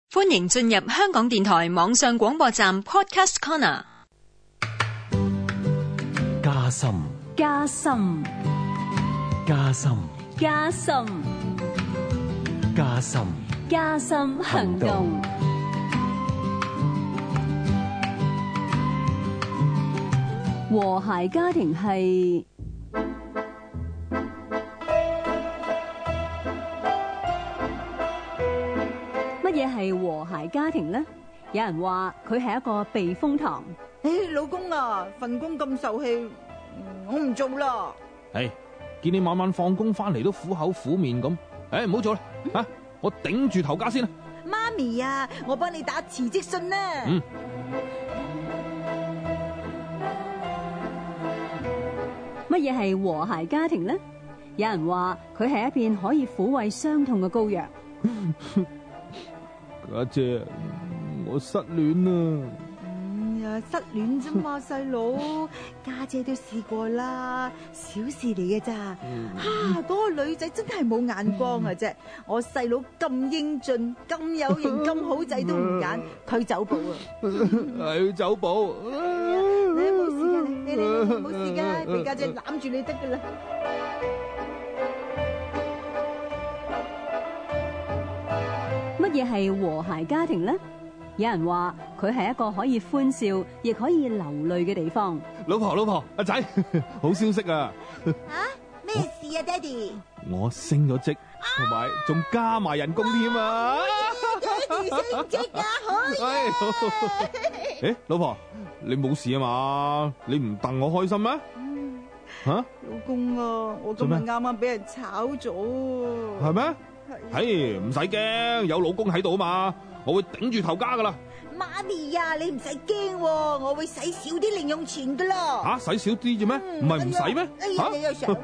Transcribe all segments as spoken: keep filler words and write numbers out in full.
歡迎進入香港電台網上廣播站 Podcast Corner。 加深， 加深， 加深， 加深， 加深， 加深行動。和諧家庭係乜嘢？係和諧家庭呢？有人話佢係一個避風塘。 誒，老公啊，份工咁受氣，我唔做啦。 係，見你晚晚放工翻嚟都苦口苦面咁，誒，唔好做啦，吓，我頂住頭家先啦。 媽咪啊，我幫你打辭職信啦。 嗯。 乜嘢係和諧家庭呢？有人話佢係一片可以撫慰傷痛嘅膏藥。 家姐，我失戀啦。 嗯呀，失戀啫嘛，細佬，家姐都試過啦，小事嚟嘅咋。吓，嗰個女仔真係冇眼光啊啫！我細佬咁英俊、咁有型、咁好仔都唔揀，佢走寶啊！ 係走寶。 你冇事噶，你你你冇事噶，俾家姐攬住你得噶啦。 乜嘢係和諧家庭呢？有人話佢係一個可以歡笑，亦可以流淚嘅地方。 老婆，老婆，阿仔，好消息啊！ 啊，咩事啊，爹哋？ 我升咗職，同埋仲加埋人工添啊！ 爹哋升職啊，好啊！ 誒，老婆，你冇事啊嘛？你唔戥我開心咩？吓， 老公啊，我今日啱啱俾人炒咗。 係咩？係，唔使驚，有老公喺度啊嘛，我會頂住頭家噶啦。 媽咪呀，你唔使驚，我會使少啲零用錢噶啦。 吓，使少啲啫咩？唔係唔使咩？ 哎呀，你又想？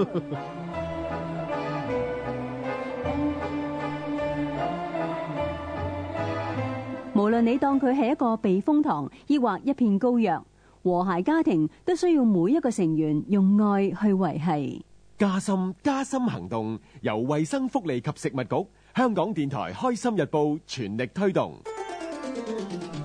無論你當佢係一個避風塘，抑或一片膏藥，和諧家庭都需要每一個成員用愛去維繫。 加深加深行動由衛生福利及食物局、香港電台、開心日報全力推動。